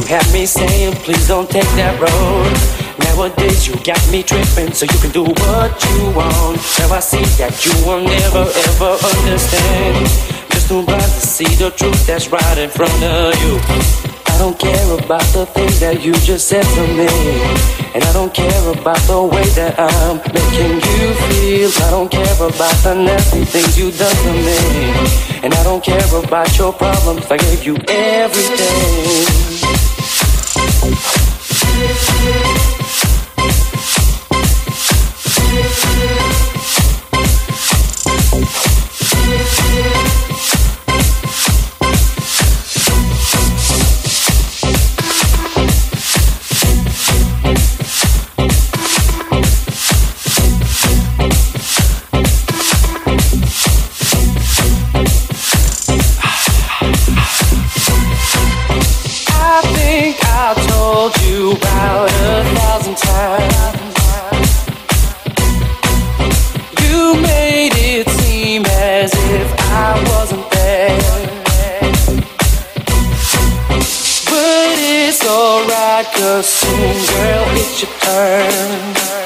have me saying, please don't take that road. Nowadays you got me tripping, so you can do what you want. Now I see that you will never ever understand. Just too blind to see the truth that's right in front of you. I don't care about the things that you just said to me, and I don't care about the way that I'm making you feel. I don't care about the nasty things you done to me, and I don't care about your problems. I gave you everything. About 1,000 times you made it seem as if I wasn't there, but it's alright, 'cause soon, girl, it's your turn.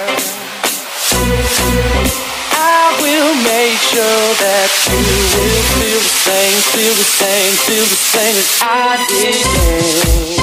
I will make sure that you will feel the same, feel the same, feel the same as I did.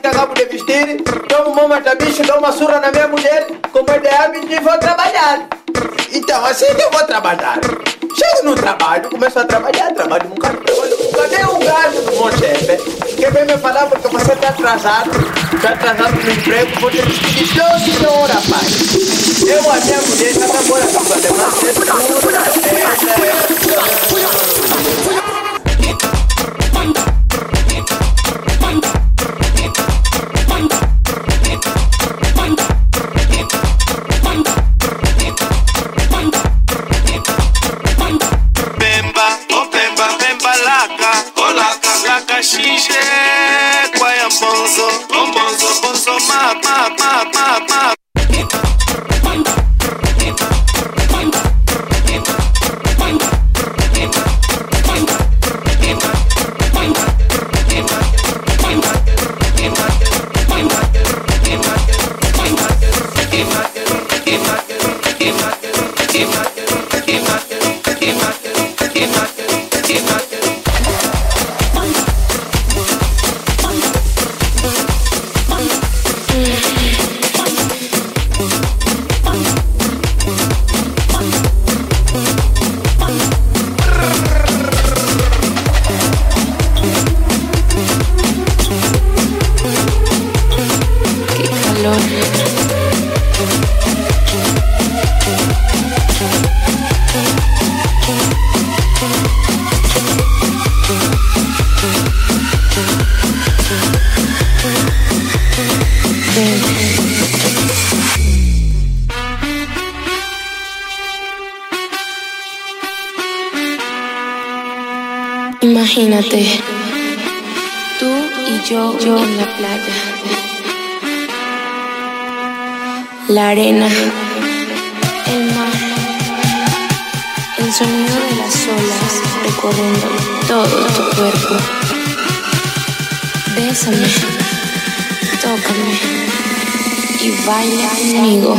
que acabo de vestir, tomo uma mata bicho, dou uma surra na minha mulher, como é de hábito e vou trabalhar. Então assim eu vou trabalhar. Chego no trabalho, começo a trabalhar, trabalho um bocado, cadê o gajo do meu chefe? Que vem me falar porque você está atrasado no emprego, vou ter que pedir 12 horas, pai. Eu, a minha mulher, está trabalhando com a Xixi, quaia bonzo, bonzo, bonzo, ma. Imagínate, tú y yo en la playa, la arena, el mar, el sonido de las olas recorriendo todo tu cuerpo. Bésame, tócame y baila conmigo.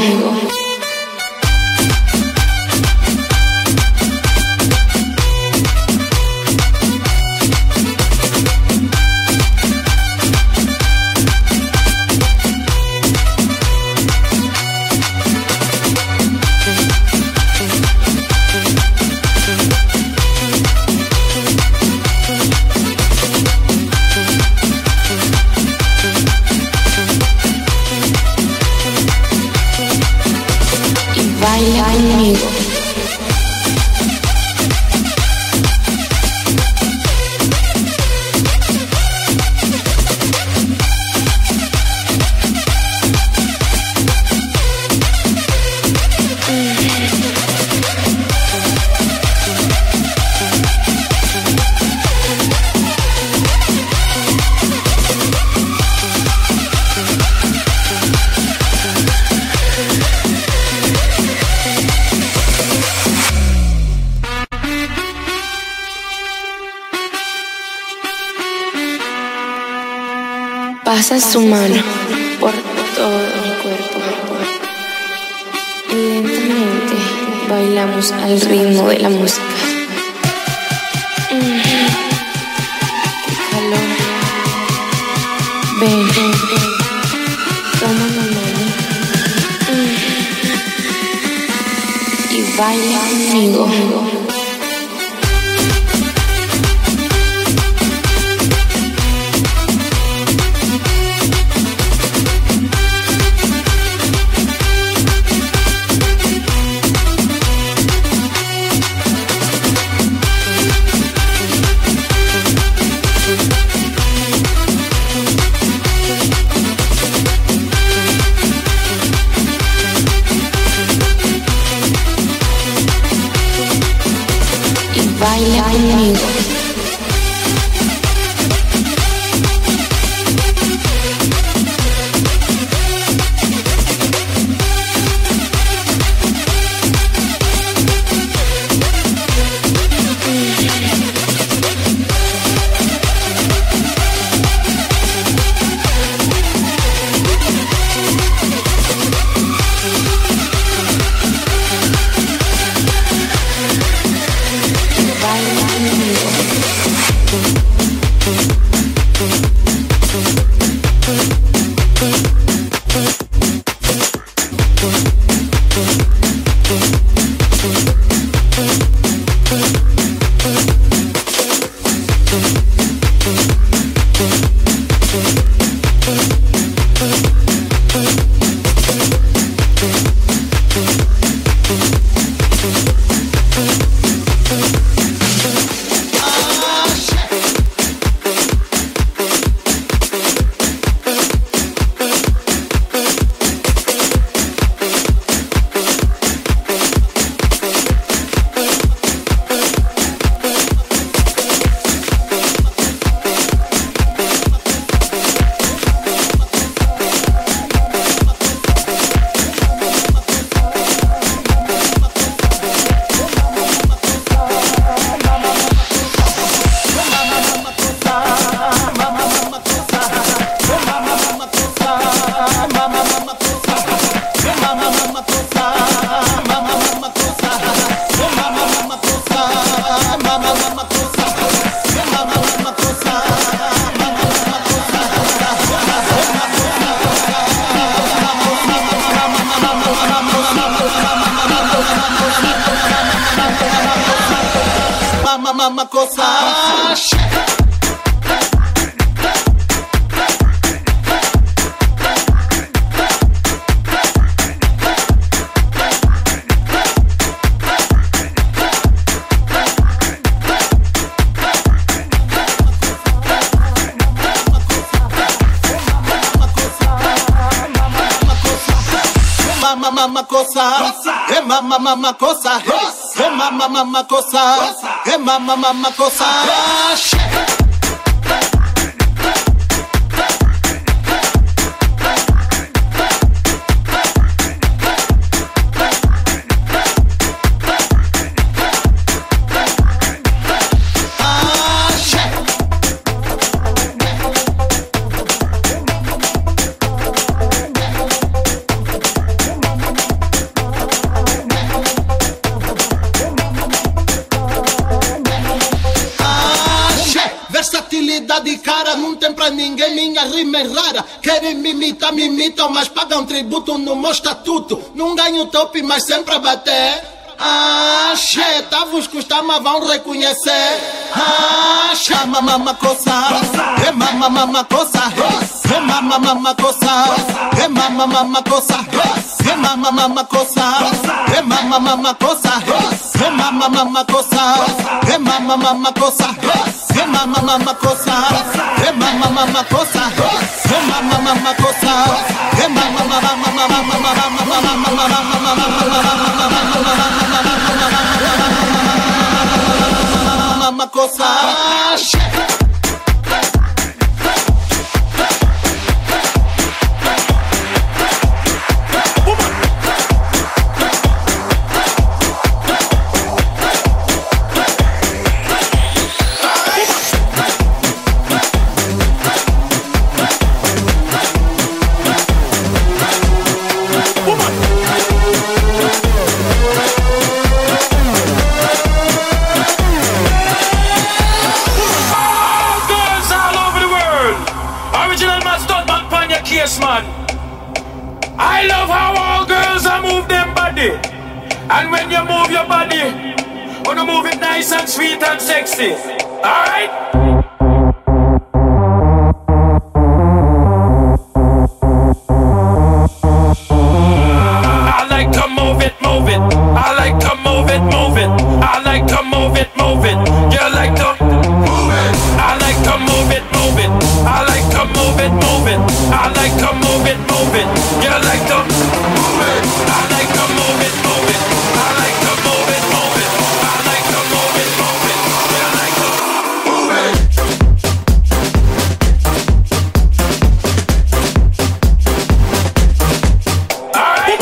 Baila conmigo. Pasa su mano por todo mi cuerpo y lentamente bailamos al ritmo de la música. ¡Qué calor! Ven, toma mi mano y baila conmigo. Baila conmigo. Baila conmigo. Mama cosa. Mama cosa, mama cosa, mama cosa, mama cosa. De cara, não tem pra ninguém, minha rima é rara. Querem me imitam, mas pagam tributo no meu estatuto. Não ganho top, mas sempre a bater. Tá vos custar, mas vão reconhecer. Mama coça, mama coça, mama coça, mama coça, mama coça, mama coça, mama coça, mama coça, mama coça, mama coça, mama coça, mama coça. Man, I love how all girls are move them body, and when you move your body, wanna move it nice and sweet and sexy. All right. I like to move it, move it. I like to move it, move it. I like to move it, move it. You like to move it. I like to move it, move it. I like to move it, move it. I like to move it, move it. You like to move it. I like to move it, move it. I like to move it, move it. I like to move it, move it. You like to move it. All right.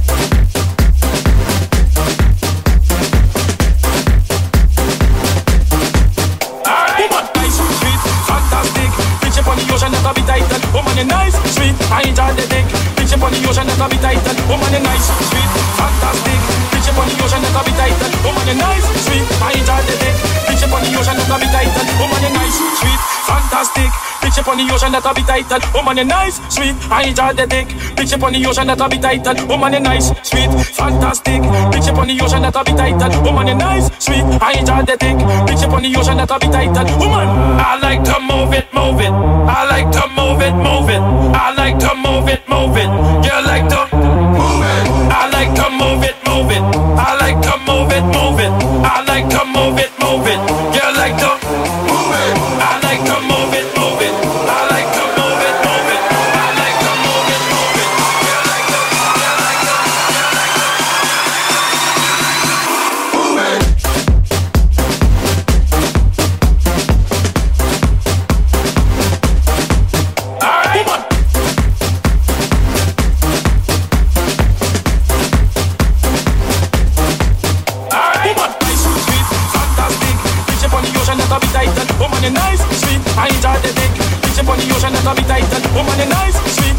All right. Nice, sweet, fantastic. Bitch up on the ocean, that'll be tight. Woman, you're nice, sweet, I enjoy the dick. Bitch up on the ocean, that'll be tight. Woman, you're nice, sweet, fantastic. Bitch up on the ocean, that'll be tight. Woman, you're nice, sweet, I enjoy the dick. Bitch up on the ocean, that'll be tight. Woman, you're nice, sweet, fantastic. Bitch up on the ocean, that'll be tight. Woman, you're nice, sweet, I enjoy the dick. Bitch up on the ocean, that'll be tight. Woman, you're nice, sweet, fantastic. Bitch up on the ocean, that'll be tight. Woman, you're nice, sweet, I enjoy the dick. Bitch up on the ocean, that'll be tight. Woman, I like to move it, move it. I like to move it, move it. I like to move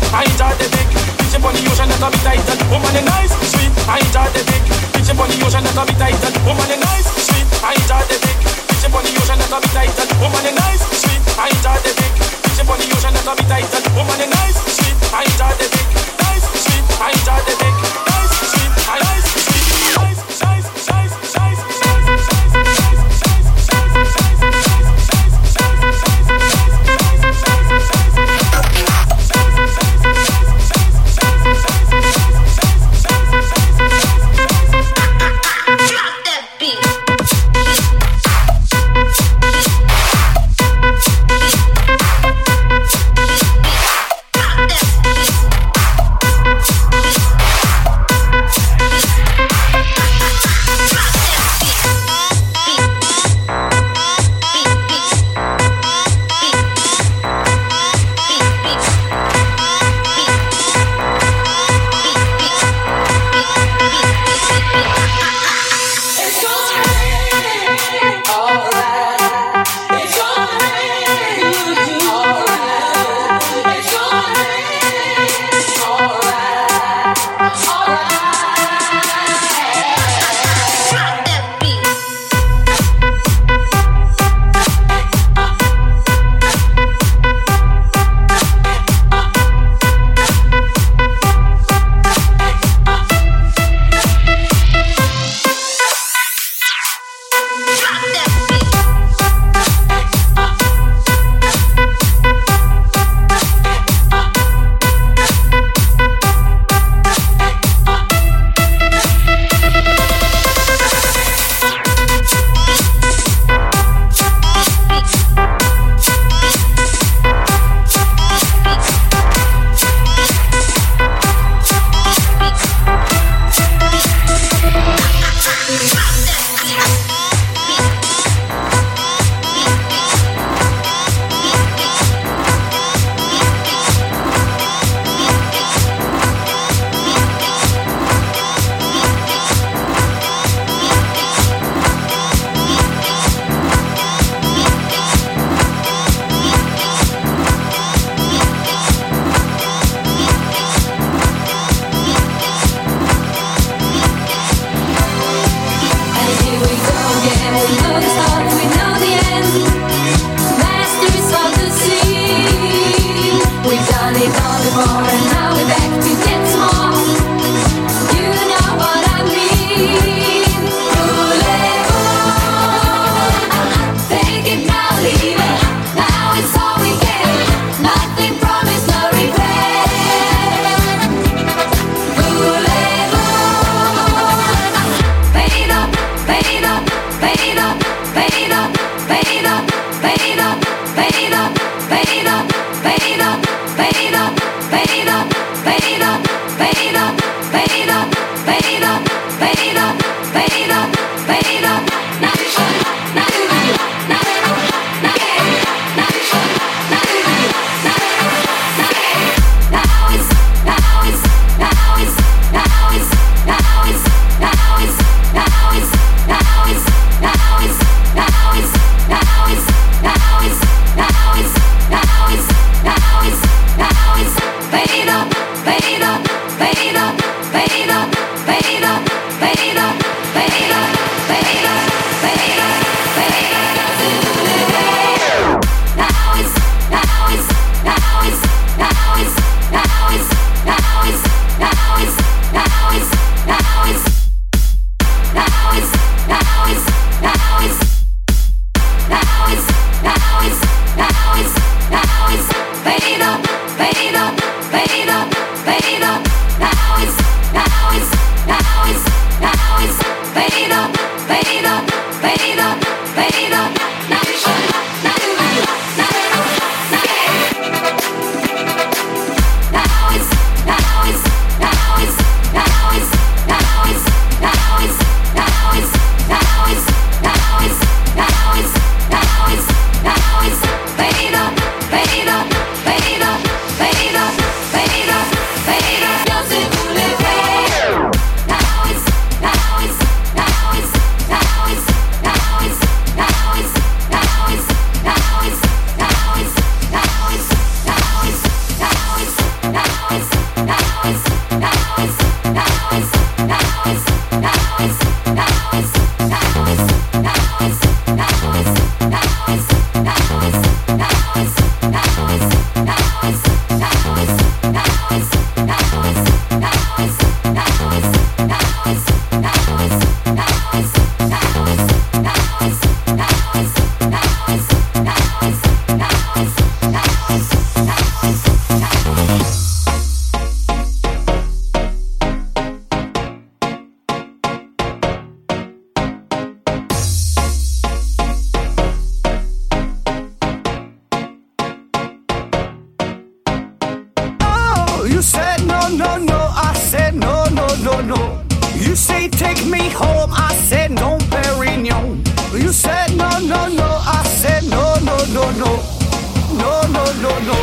I enjoy the dick. Fishing on the ocean, that a bit tighter. Woman, you nice, sweet, I enjoy the dick. Fishing on the ocean, that a bit tighter. Woman, you nice, sweet, I enjoy the dick. Fishing on the ocean, that a bit tighter. Woman, you nice, sweet, I enjoy the dick. Fishing on the ocean, that a bit tighter. Woman, you nice, sweet, I enjoy the dick. Nice, sweet, I enjoy the dick. Nice, sweet, I nice, sweet, nice, nice, nice, nice, Fade up, no. You say take me home, I said no, Perignon. You said no, no, no, I said no, no, no, no. No, no, no, no.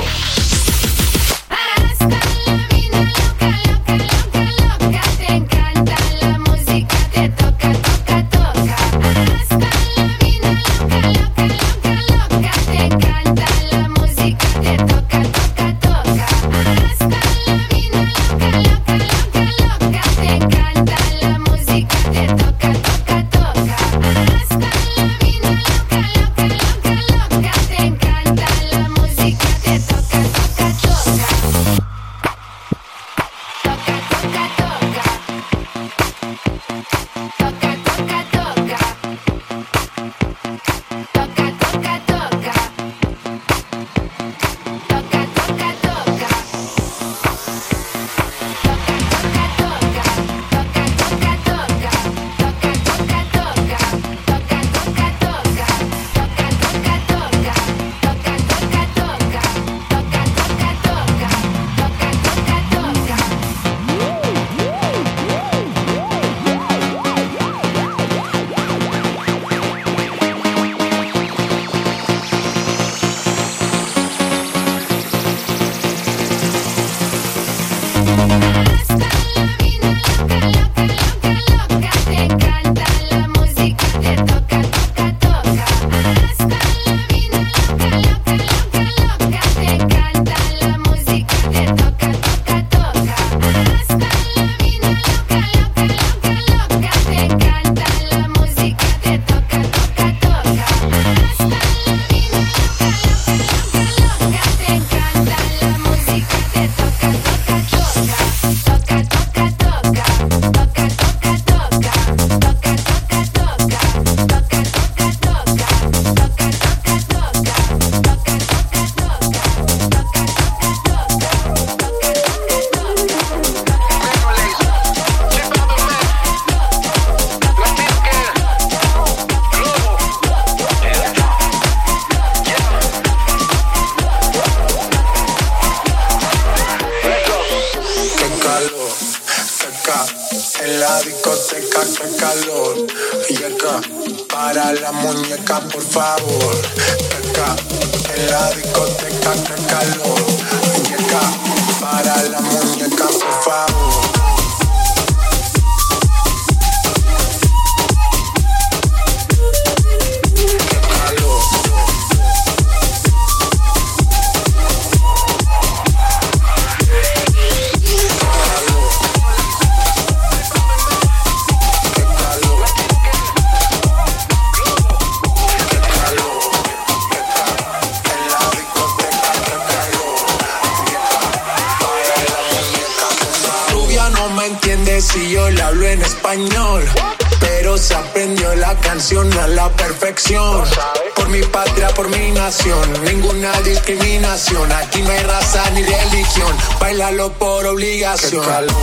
Si yo le hablo en español, pero se aprendió la canción a la perfección. Por mi patria, por mi nación, ninguna discriminación. Aquí no hay raza ni religión, bailalo por obligación. Qué calor.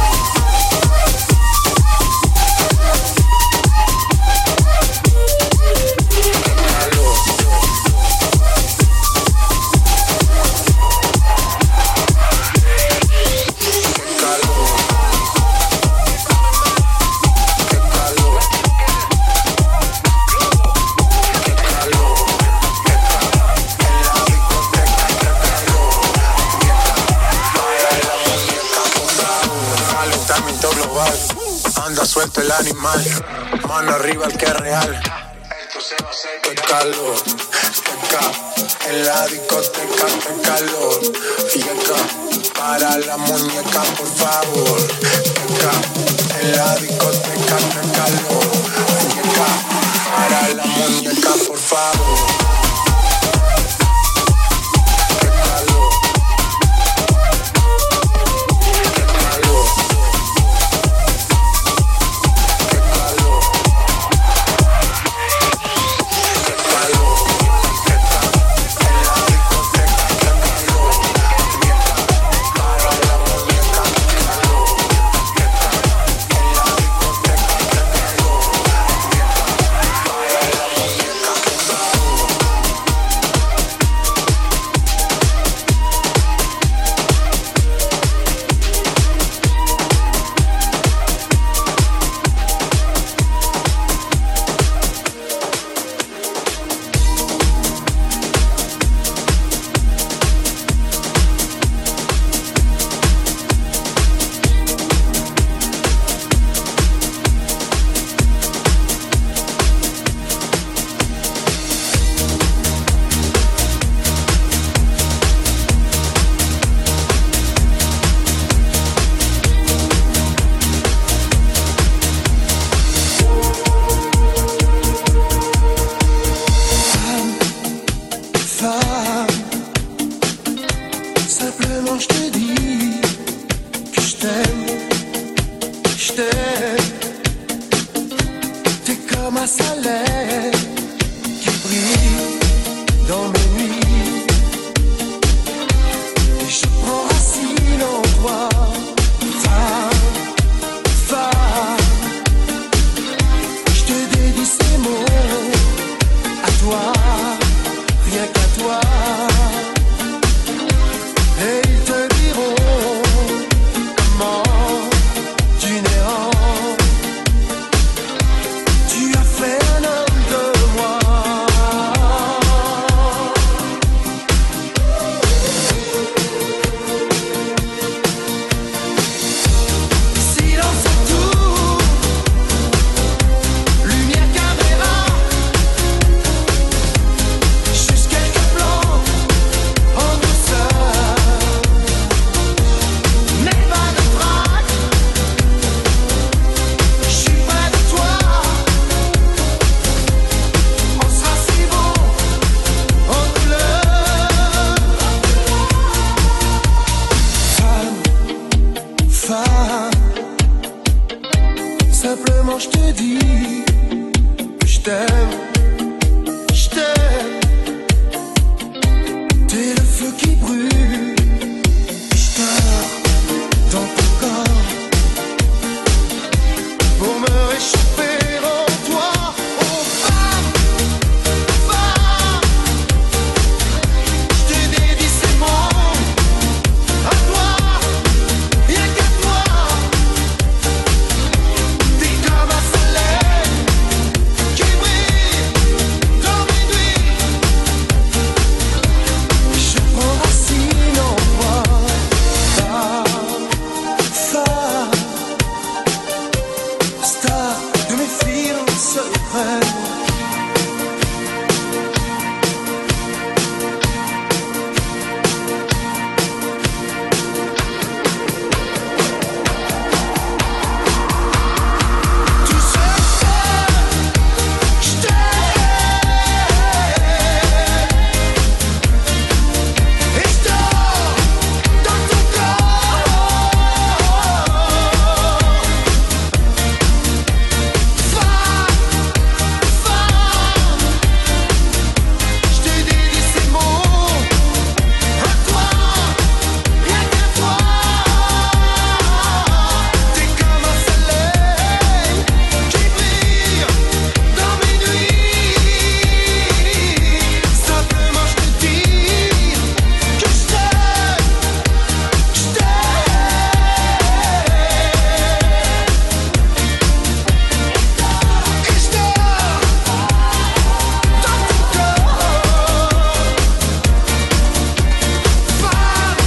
Anda suelto el animal, mano arriba el que es real. Esto se va a hacer. Qué calor, en la discoteca, qué calor. Y acá, para la muñeca, por favor. Acá, en la discoteca, qué calor. Y acá, para la muñeca, por favor. t'aime, je t'aime. T'es comme un soleil qui brille dans mes nuits. Et je prends racine en toi, femme, femme. Je te dédie ces mots à toi, rien qu'à toi. Et ils te diront comment tu n'es tu as fait un homme de moi. Silence autour, lumière caméra, juste quelques plans en douceur, mais pas de trac. Je suis près de toi, on sera si bon en couleur. Femme, femme, simplement je te dis que je t'aime, je t'aime. T'es le feu qui brûle, je dors dans ton corps pour me réchauffer en toi. Oh femme, femme, je te dédie ces mots à toi, rien qu'à toi. T'es comme un soleil qui brille dans mes nuits. Je prends racine en toi, femme, star de mes films secrets. Tu sais que je t'aime et je dors dans ton corps. Femme, femme, je te dédie ces mots à toi, rien qu'à toi. T'es comme un soleil qui brille dans mes nuits. Simplement je te dis que je t'aime, je t'aime. Et je dors dans ton corps. Femme,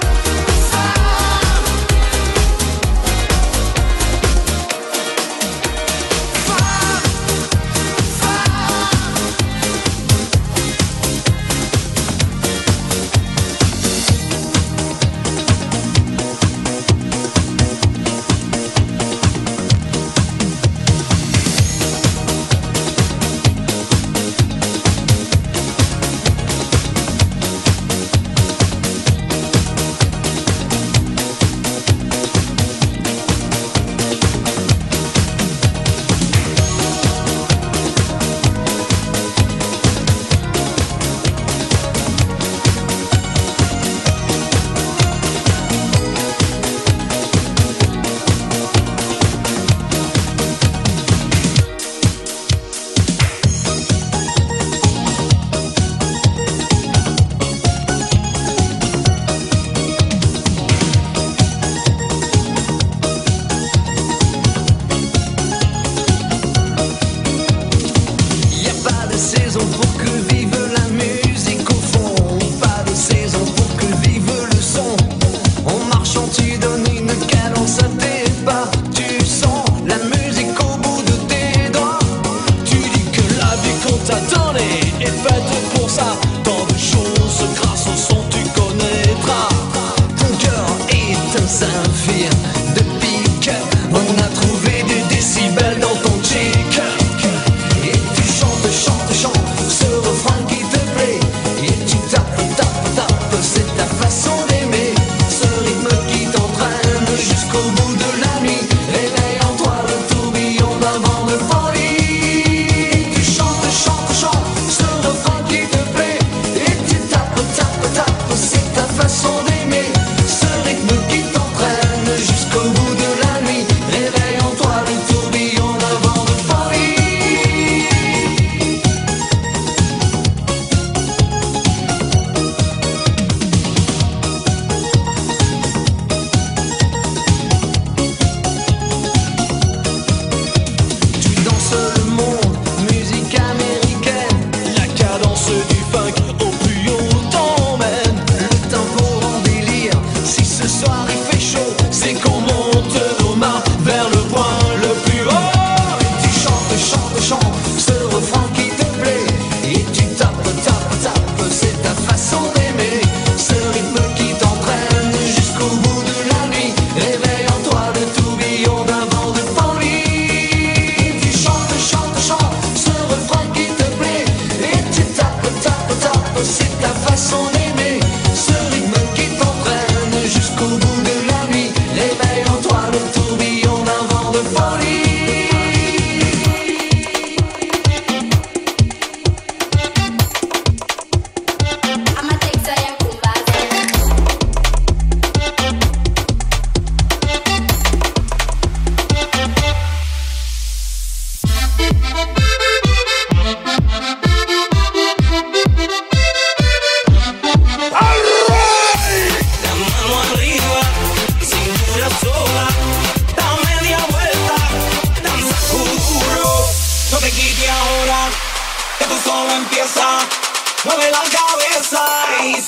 y a pas de saison pour que vive la musique au fond, pas de saison pour que vive le son. En marchant tu donnes une cadence à tes pas, tu sens la musique au bout de tes doigts. Tu dis que la vie qu'on t'attendait est faite pour ça. Tant de choses grâce au son tu connaîtras. Ton cœur est un saphir de pique. On a trouvé des décibels dans ton cheek. Et tu chantes, chantes, chantes ce refrain qui te plaît. Et tu tapes, tapes, tapes, c'est ta façon d'aimer. Ce rythme qui t'entraîne jusqu'au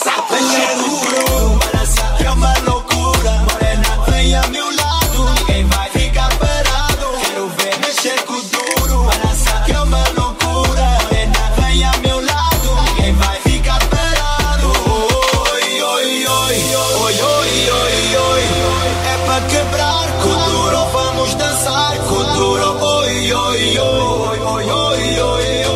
Venha duro, que é uma loucura. Morena, venha a meu lado, ninguém vai ficar parado. Quero ver mexer com duro, que é uma loucura. Morena, venha a meu lado, ninguém vai ficar parado. Oi, oi, oi, oi, oi, oi, oi. É pra quebrar com duro, vamos dançar com duro. Oi, oi, oi, oi, oi, oi, oi.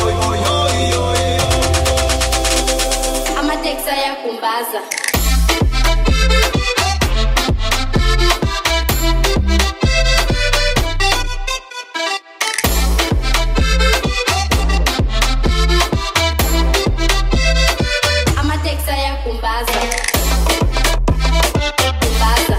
Saya kumbaza. Ama tek saya kumbaza. Kumbaza.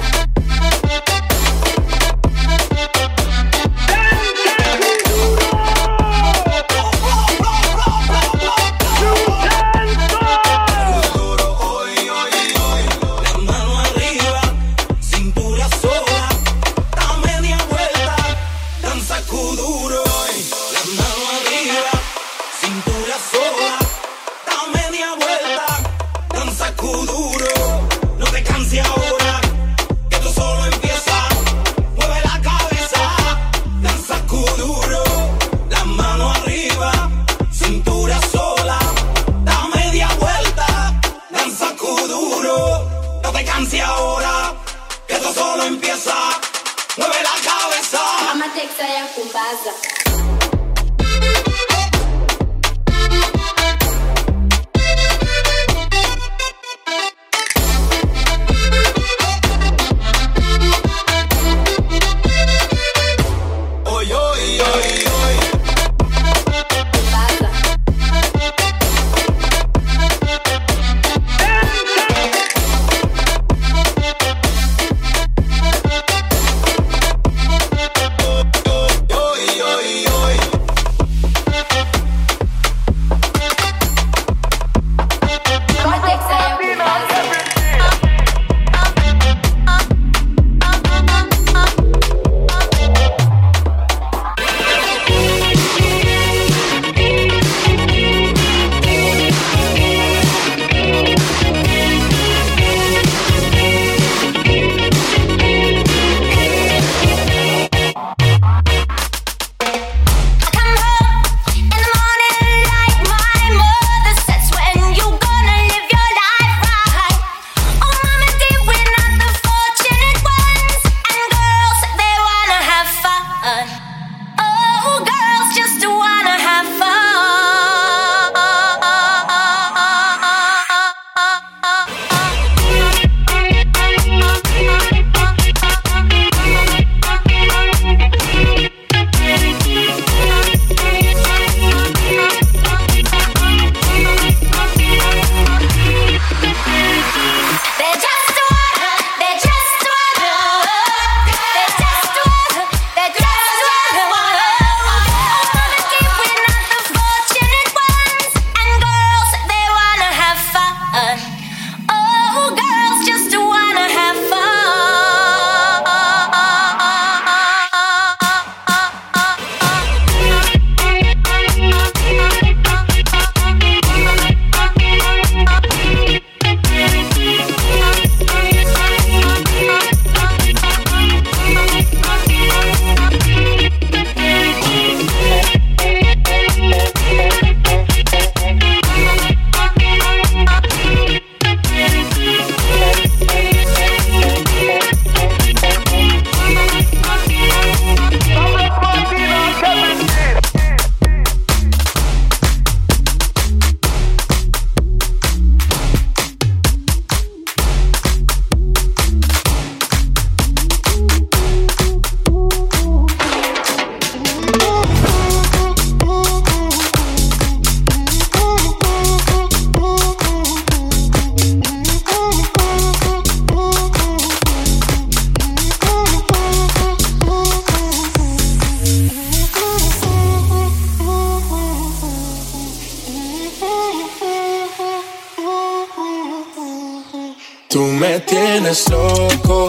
Tú me tienes loco,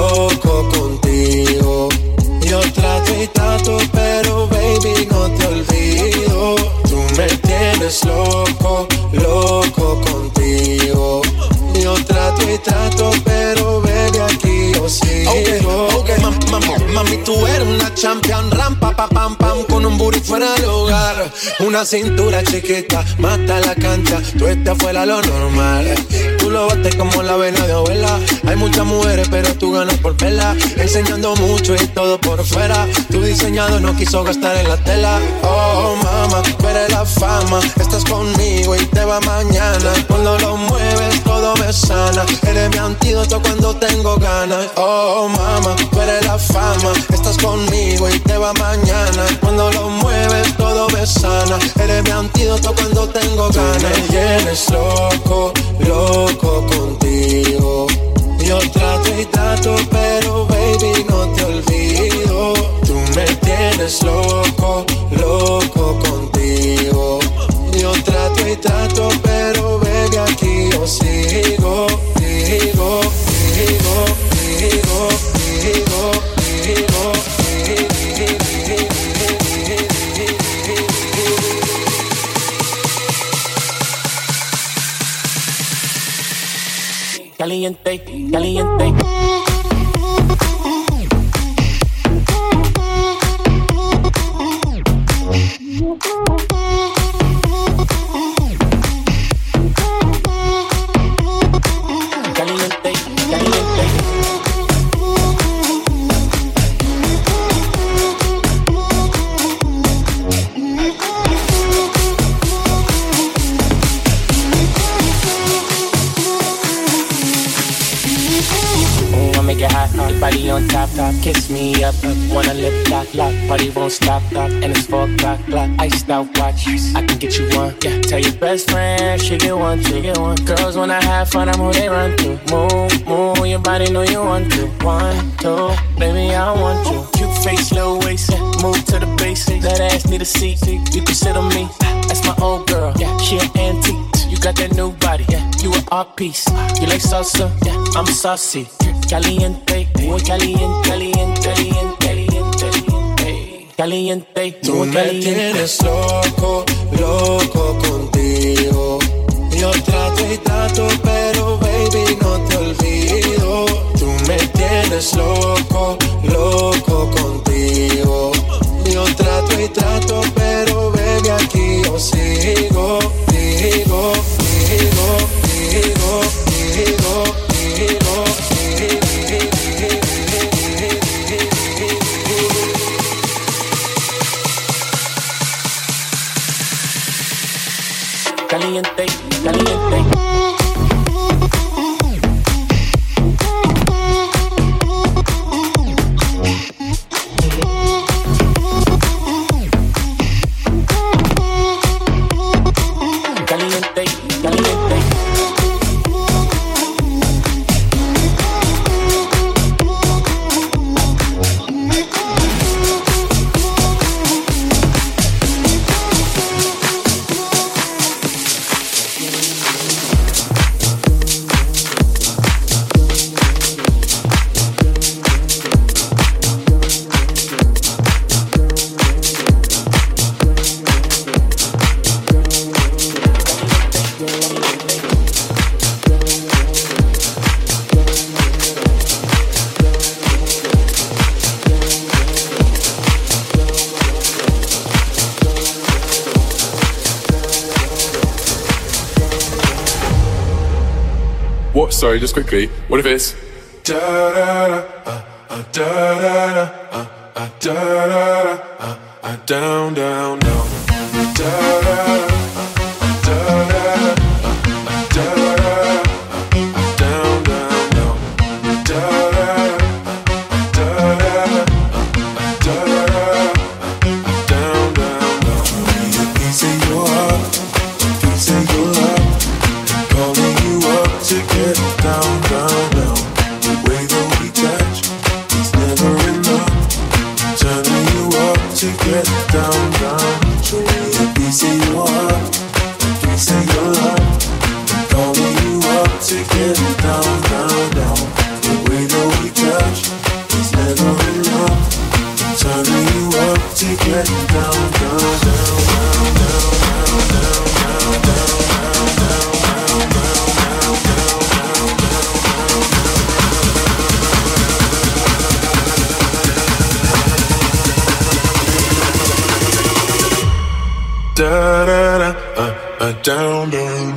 loco contigo. Yo trato y trato, pero baby no te olvido. Tú me tienes loco, loco contigo. Mami, tú eres una champion, rampa, pa, pam, pam, con un booty fuera del hogar. Una cintura chiquita, mata la cancha, tú estás fuera lo normal. Tú lo bates como la vena de abuela. Hay muchas mujeres, pero tú ganas por vela. Enseñando mucho y todo por fuera. Tu diseñado no quiso gastar en la tela. Oh, mama, tú eres la fama. Estás conmigo y te va mañana. Cuando lo mueves, todo me sana. Eres mi antídoto cuando tengo ganas. Oh, mama, tú eres la fama. Estás conmigo y te va mañana. Cuando lo mueves, todo me sana. Eres mi antídoto cuando tengo ganas. Tú me tienes loco, loco contigo. Yo trato y trato, pero baby, no te olvido. Tú me tienes loco, loco contigo. Yo trato y trato, pero baby, aquí yo sigo. Digo, digo, digo, digo, digo, caliente, caliente. Body on top, top, kiss me up, wanna lip lock, lock, party won't stop, lock, and it's 4 o'clock, clock, iced out watch, I can get you one, yeah, tell your best friend, she get one, girls wanna have fun, I'm who they run to, move, move, your body know you want to, 1, 2, baby, I want you, cute face, little waist, yeah, move to the basics, that ass need a seat, you can sit on me, that's my old girl, yeah, she an antique, you got that new body, yeah, you an art piece, you like salsa, yeah, I'm saucy, caliente, muy caliente, caliente, caliente, caliente, caliente. Tú me tienes loco, loco contigo. Yo trato y trato, pero baby, no te olvido. Tú me tienes loco, loco contigo. Yo trato y trato, pero baby, aquí yo sigo. Digo, digo, digo, digo, digo. Caliente, caliente. What? Sorry, just quickly. What if it's da da da da da da da down down down da da da da down down down da down down down. Piece of your heart, piece of your love, calling you up to get down, down, down. The way that we touch is never enough. Turning you up to get down, down. Show me a piece of da da da, down down.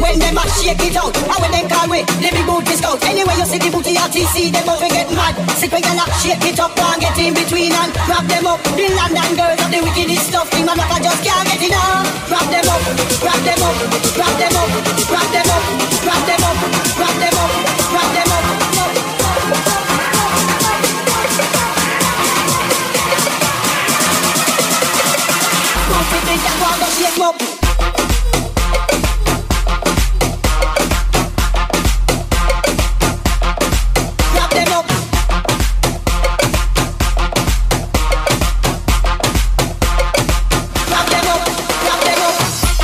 when them a shake it out. And when them call we, the big booty scout. Anyway you see the booty RTC, them over get mad. Sick when you shake it up and get in between and wrap them up. The London girls of the wickedest stuff, the man I just can't get enough. Wrap them up, wrap them up, wrap them up, wrap them up, wrap them up, wrap them up, wrap them up. Shake up. Wrap them up. Wrap them up. Wrap them up.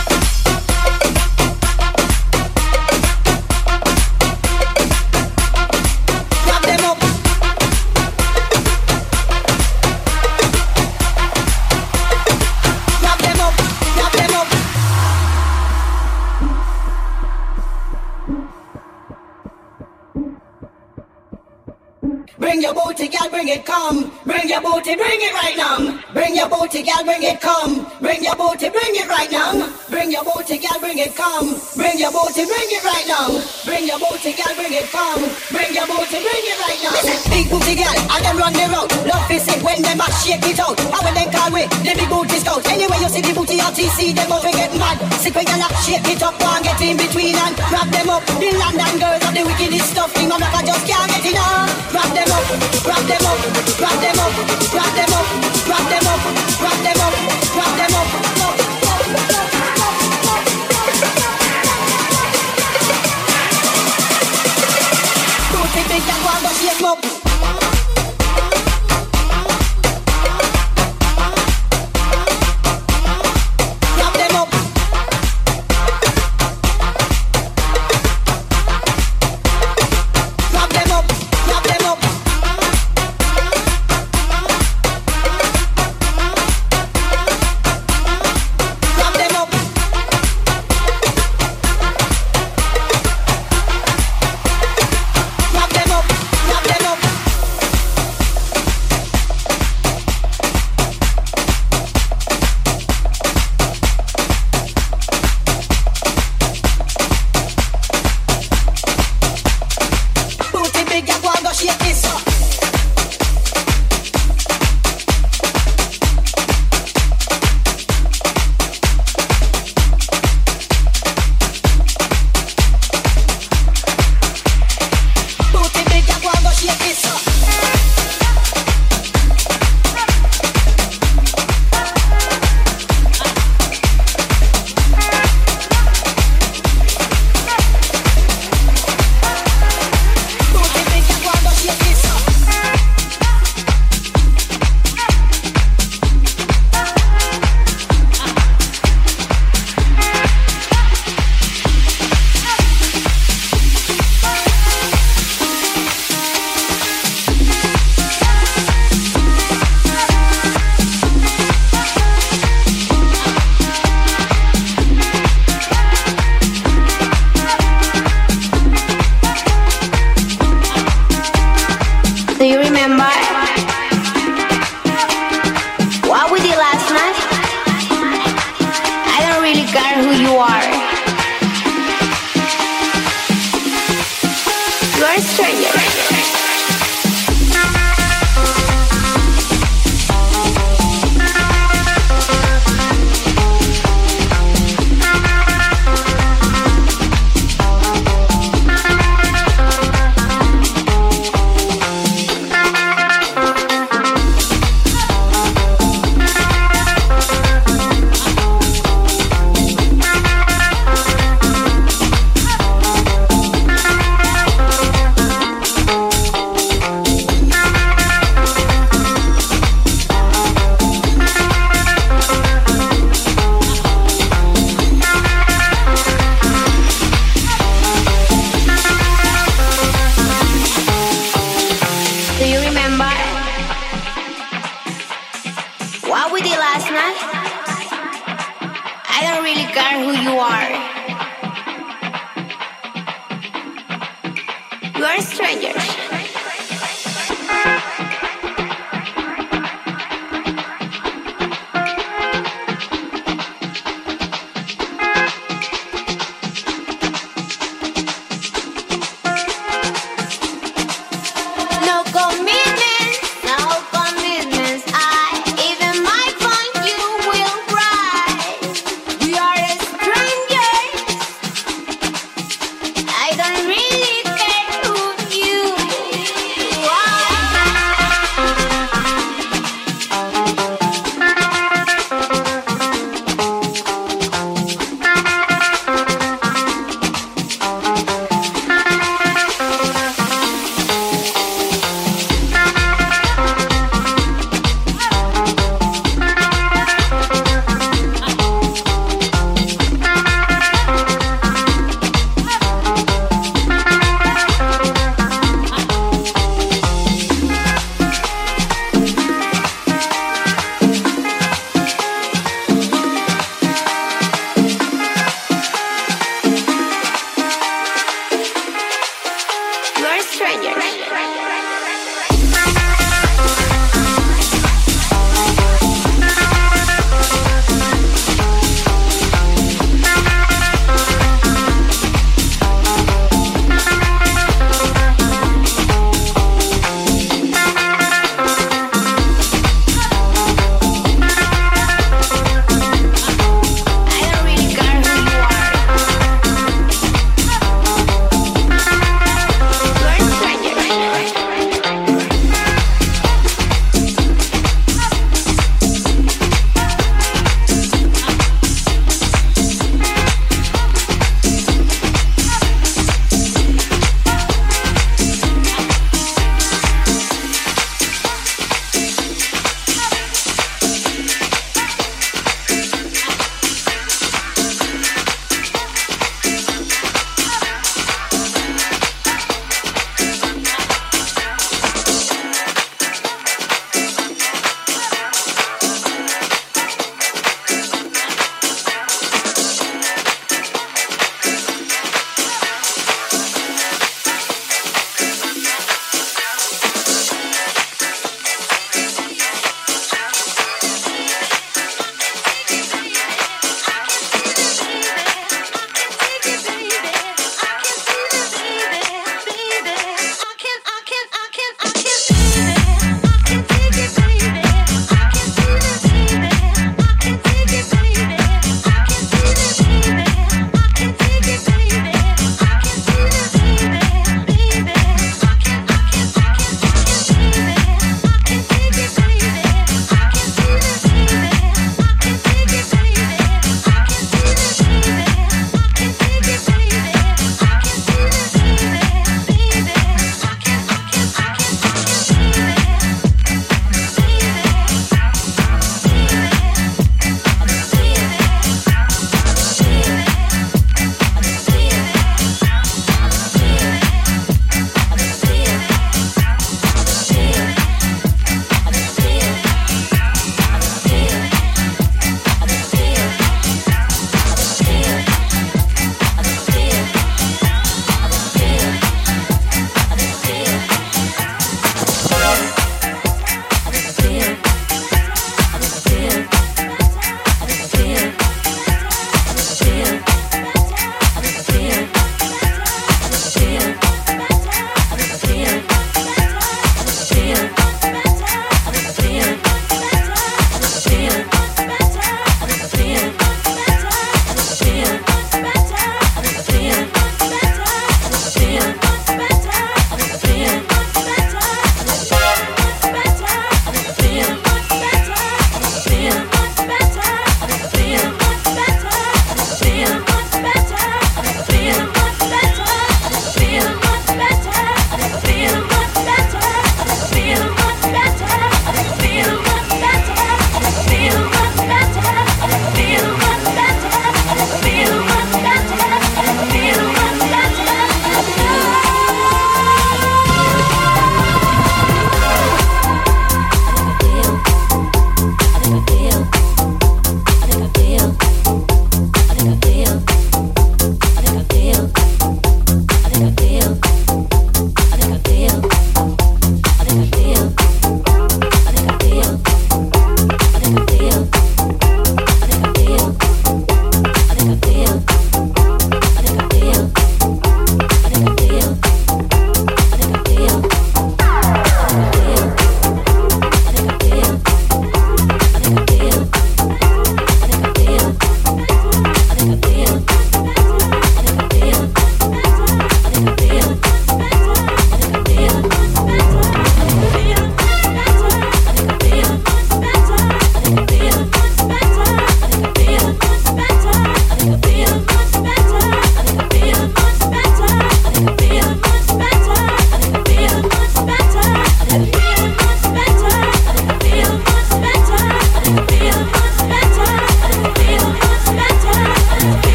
Wrap them up. Wrap them up. Wrap them up. Bring your booty, girl, bring it, come. Bring your booty, bring it right now. Bring your booty, girl, bring it, come. Bring your booty, bring it right now. Bring your booty, girl, bring it, come. Bring your booty, bring it right now. Bring your booty, girl, bring it, come. Bring your booty, bring it right now. Big booty, girl, and them run the road. Love is it when them a shake it out. And when them call we, the big booty scout. Anyway you see the booty RTC, them over get mad. Sick when you shake it up and get in between and wrap them up. The London girls of the wickedest stuff, the man I just can't get enough. Wrap them up, wrap them up, wrap them up, wrap them up, wrap them up, wrap them up, wrap them up. Booty big and one go shake up. Wrap them up. Wrap them up, wrap them up. Wrap them up. Wrap them up, wrap them up. Booty big and one go shake this up. Booty big and one go shake this up. Booty big and one go shake this up. Do you remember what we did last night? I don't really care who you are. You are a stranger. Do you remember what we did last night? I don't really care who you are. You are a stranger.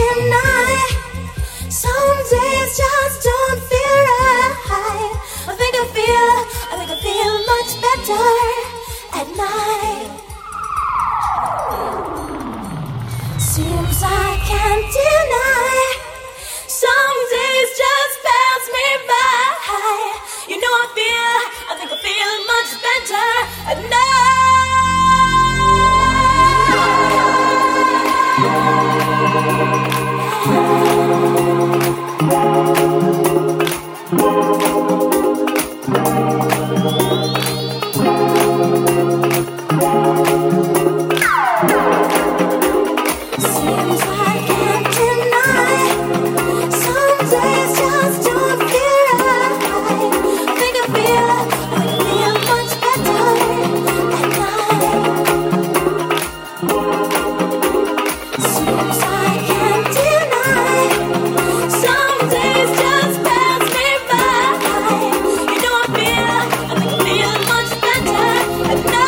deny. Some days just don't feel right. I think I feel much better at night. Seems I can't deny. Some days just pass me by. You know I think I feel much better at Seems I can't deny. Some days just don't feel right. I think I feel much better at night. Seems I can't deny. Some days just pass me by. You know I think I feel much better at night.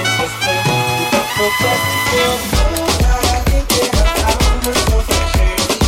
I think that I found myself a cheerleader.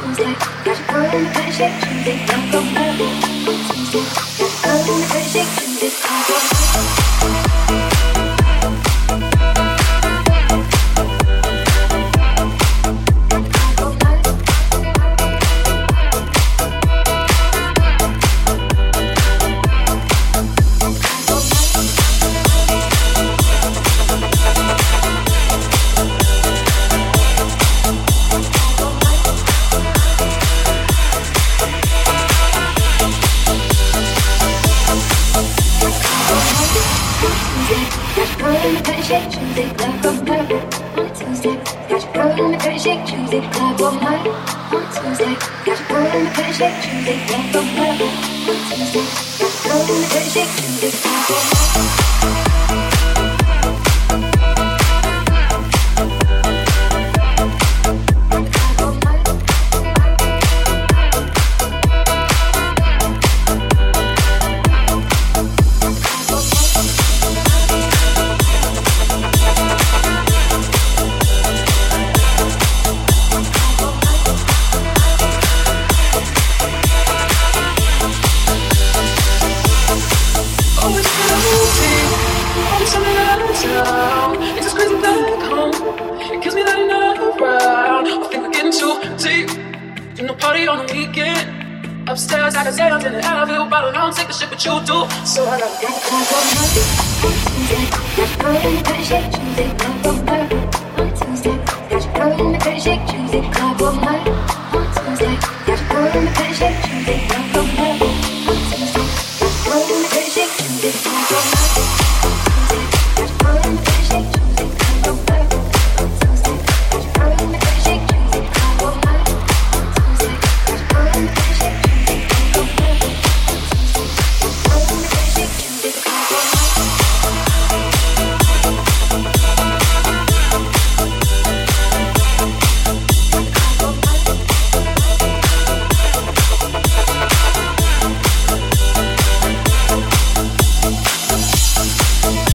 Tuesday, got your girl in the pretty shake, Tuesday, club all night.